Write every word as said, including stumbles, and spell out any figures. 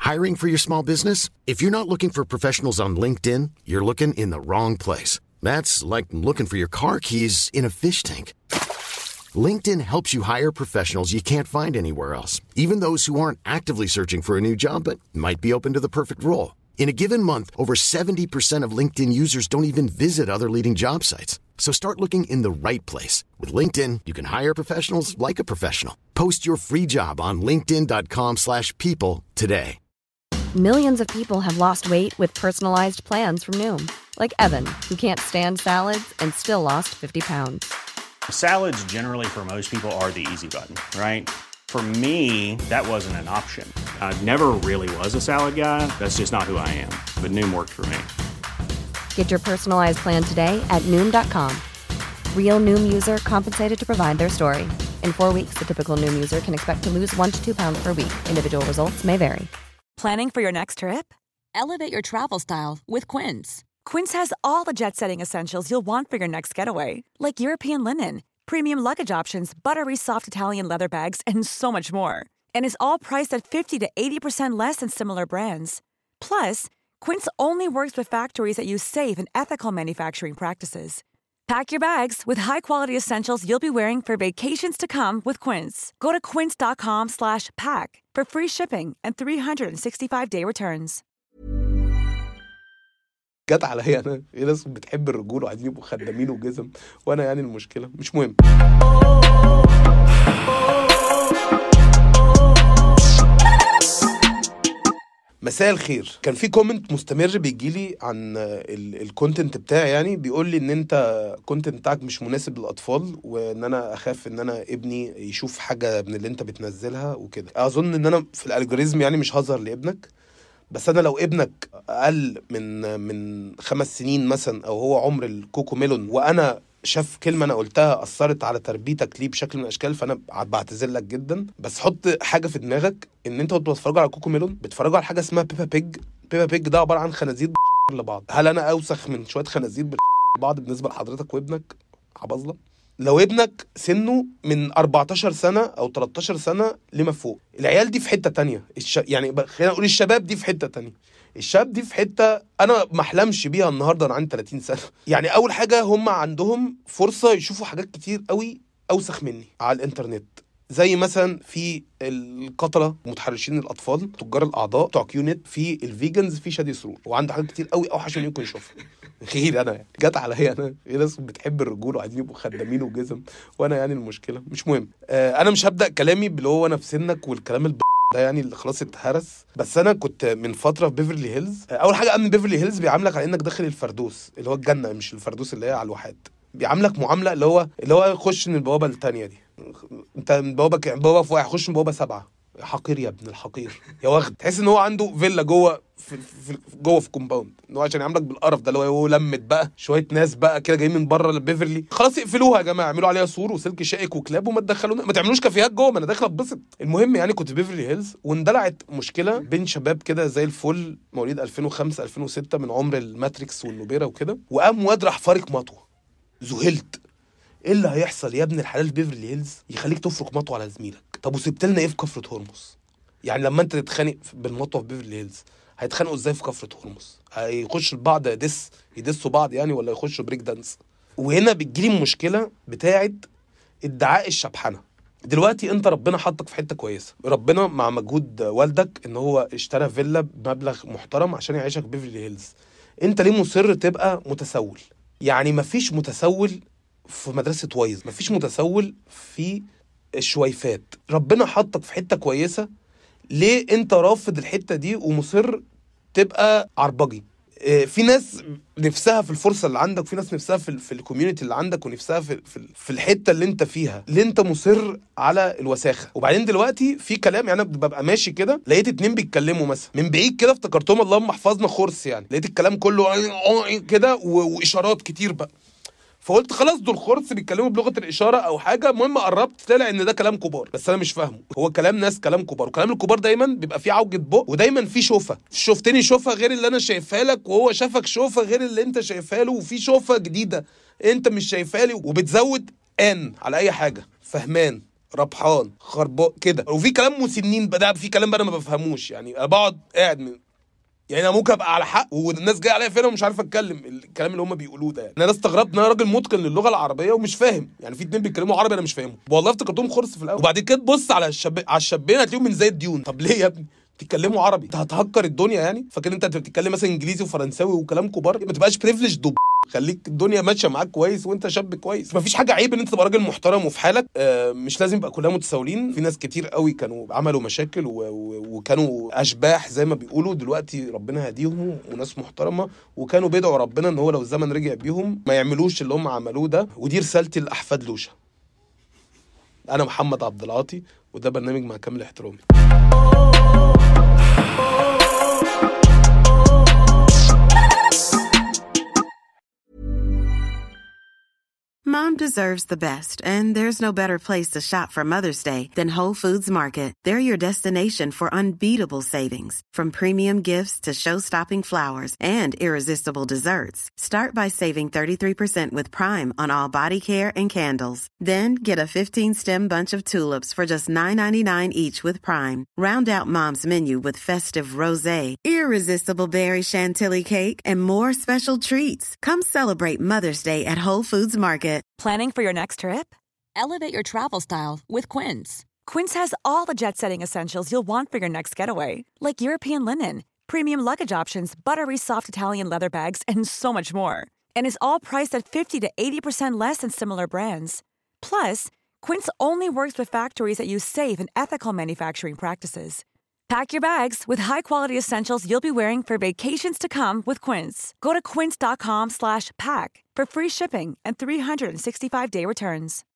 Hiring for your small business? If you're not looking for professionals on LinkedIn, you're looking in the wrong place. That's like looking for your car keys in a fish tank. LinkedIn helps you hire professionals you can't find anywhere else, even those who aren't actively searching for a new job but might be open to the perfect role. In a given month, over seventy percent of LinkedIn users don't even visit other leading job sites. So start looking in the right place. With LinkedIn, you can hire professionals like a professional. Post your free job on linkedin.com slash people today. Millions of people have lost weight with personalized plans from Noom. Like Evan, who can't stand salads and still lost fifty pounds. Salads generally for most people are the easy button, right? For me, that wasn't an option. I never really was a salad guy. That's just not who I am. But Noom worked for me. Get your personalized plan today at Noom dot com. Real Noom user compensated to provide their story. In four weeks, the typical Noom user can expect to lose one to two pounds per week. Individual results may vary. Planning for your next trip? Elevate your travel style with Quince. Quince has all the jet-setting essentials you'll want for your next getaway, like European linen, premium luggage options, buttery soft Italian leather bags, and so much more. And is all priced at fifty to eighty percent less than similar brands. Plus, Quince only works with factories that use safe and ethical manufacturing practices. Pack your bags with high-quality essentials you'll be wearing for vacations to come with Quince. Go to quince.com slash pack for free shipping and three sixty-five day returns. جت عليا انا في ناس بتحب الرجول وعايزين يبقوا خدامين وجزم، وانا يعني المشكله مش مهم. مساء الخير. كان في كومنت مستمر بيجيلي عن الكونتنت بتاعي، يعني بيقول لي ان انت الكونتنت بتاعك مش مناسب للاطفال، وان انا اخاف ان انا ابني يشوف حاجه من اللي انت بتنزلها وكده. اظن ان انا في الالجوريزم يعني مش هظهر لابنك، بس انا لو ابنك اقل من من خمس سنين مثلا، او هو عمر الكوكو ميلون، وانا شاف كلمه انا قلتها اثرت على تربيتك ليه بشكل من الاشكال، فانا بعتذر لك جدا. بس حط حاجه في دماغك ان انت وانت بتتفرج على كوكو ميلون بتتفرجوا على حاجه اسمها بيبا بيج. بيبا بيج ده عباره عن خنازير بتشخر لبعض. هل انا اوسخ من شويه خنازير بتشخر لبعض بالنسبه لحضرتك وابنك عبظله؟ لو ابنك سنه من أربعتاشر سنة أو تلتاشر سنة لما فوق، العيال دي في حتة تانية. الش... يعني خلينا نقول الشباب دي في حتة تانية، الشباب دي في حتة أنا محلمش بيها النهاردة. أنا عندي تلاتين سنة. يعني أول حاجة هم عندهم فرصة يشوفوا حاجات كتير قوي أوسخ مني على الإنترنت، زي مثلا في القتلة متحرشين الأطفال، تجار الأعضاء بتوع كيونت، في الفيجنز، في شادي سرور، وعنده حاجات كتير قوي أوحش من يمكن يشوفها. غير أنا يعني جت عليا أنا في ناس بتحب الرجول وعايزين يبقوا خدامين وجزم، وأنا يعني المشكلة مش مهم. آه أنا مش هبدأ كلامي باللي هو أنا في سنك والكلام الب ده يعني اللي خلاص اتهرس. بس أنا كنت من فترة في بيفرلي هيلز. آه أول حاجة أمن بيفرلي هيلز بيعاملك على إنك داخل الفردوس اللي هو الجنة، مش الفردوس اللي هي على الواحات. بيعاملك معاملة اللي هو اللي هو يخش من البوابة التانية دي، انت من بوابه ك... بوابه في واحد، خش من بوابه سبعة. حقير يا ابن الحقير يا واخد. تحس ان هو عنده فيلا جوه في, في جوه في كومباوند، ان هو عشان يعملك بالقرف ده اللي هو لمت بقى شويه ناس بقى كده جايين من بره البيفرلي. خلاص اقفلوها يا جماعه، اعملوا عليها سور وسلك شائك وكلاب وما تدخلونا، ما تعملوش كافيهات جوه، ما انا داخل اتبسط. المهم يعني كنت في بيفرلي هيلز، واندلعت مشكله بين شباب كده زي الفل مواليد ألفين وخمسة ألفين وستة من عمر الماتريكس والنوبيرا وكده، وقام واد راح فارق مطوه. ذهلت. ايه اللي هيحصل يا ابن الحلال بيفرلي هيلز يخليك تفرق مطوه على زميلك؟ طب وسبت لنا ايه في كفره هرمز؟ يعني لما انت تتخانق بالمطوه في بيفرلي هيلز هيتخانقوا ازاي في كفره هرمز؟ هيخش البعض دس يدسوا بعض يعني، ولا يخشوا بريك دانس؟ وهنا بتجيلي المشكله بتاعه ادعاء الشبحنه. دلوقتي انت ربنا حطك في حته كويسه، ربنا مع مجهود والدك ان هو اشترى فيلا بمبلغ محترم عشان يعيشك بيفرلي هيلز. انت ليه مصر تبقى متسول؟ يعني مفيش متسول في مدرسة وايز، مفيش متسول في الشويفات. ربنا حطك في حتة كويسة، ليه انت رافض الحتة دي ومصر تبقى عربجي؟ اه في ناس نفسها في الفرصة اللي عندك، في ناس نفسها في, في الكوميونيتي اللي عندك، ونفسها في, في, في الحتة اللي انت فيها. ليه انت مصر على الوساخة؟ وبعدين دلوقتي في كلام، يعني ببقى ماشي كده لقيت اتنين بيتكلموا مثلا من بعيد كده، افتكرتهم اللهم احفظنا خرس، يعني لقيت الكلام كله كده واشارات كتير بقى، فقلت خلاص دول خرس بيتكلموا بلغه الاشاره او حاجه. المهم قربت طلع ان ده كلام كبار، بس انا مش فاهمه. هو كلام ناس كلام كبار، وكلام الكبار دايما بيبقى فيه عوجه بق، ودايما فيه شوفه. شفتني شوفه غير اللي انا شايفها لك، وهو شافك شوفه غير اللي انت شايفها له، وفي شوفه جديده انت مش شايفها لي، وبتزود ان على اي حاجه. فهمان ربحان خربان كده. وفي كلام مسنين بقى، في كلام بقى انا ما بفهموش يعني. انا بقعد قاعد من يعني انا ممكن ابقى على حق والناس جايه عليا فين ومش عارف اتكلم الكلام اللي هم بيقولوه ده يعني. انا استغربت ان انا راجل متقن للغه العربيه ومش فاهم يعني. في اتنين بيتكلموا عربي انا مش فاهمهم والله، افتكرتهم خرص في الاول. وبعد كده تبص على الشاب على الشابين هتلاقيهم من زي الديون. طب ليه يا ابني بتتكلموا عربي؟ انت هتهكر الدنيا يعني؟ فاكر انت بتتكلم مثلا انجليزي وفرنساوي وكلام كبار؟ ما تبقاش بريفليج دب، خليك الدنيا ماشيه معاك كويس وانت شاب كويس. مفيش حاجه عيب ان انت تبقى راجل محترم وفي حالك. آه مش لازم يبقى كلنا متساويين. في ناس كتير قوي كانوا عملوا مشاكل و... و... وكانوا اشباح زي ما بيقولوا. دلوقتي ربنا هديهم وناس محترمه، وكانوا بيدعوا ربنا ان هو لو الزمن رجع بيهم ما يعملوش اللي هم عملوه ده. ودي رسالتي لاحفاد لوشا. انا محمد عبد العاطي وده برنامج مع كامل احترامي. Mom deserves the best, and there's no better place to shop for Mother's Day than Whole Foods Market. They're your destination for unbeatable savings, from premium gifts to show-stopping flowers and irresistible desserts. Start by saving thirty-three percent with Prime on all body care and candles. Then get a fifteen-stem bunch of tulips for just nine ninety-nine each with Prime. Round out Mom's menu with festive rosé, irresistible berry chantilly cake, and more special treats. Come celebrate Mother's Day at Whole Foods Market. Planning for your next trip? Elevate your travel style with Quince. Quince has all the jet-setting essentials you'll want for your next getaway, like European linen, premium luggage options, buttery soft Italian leather bags, and so much more. And is all priced at fifty to eighty percent less than similar brands. Plus, Quince only works with factories that use safe and ethical manufacturing practices. Pack your bags with high-quality essentials you'll be wearing for vacations to come with Quince. Go to quince.com slash pack for free shipping and three sixty-five day returns.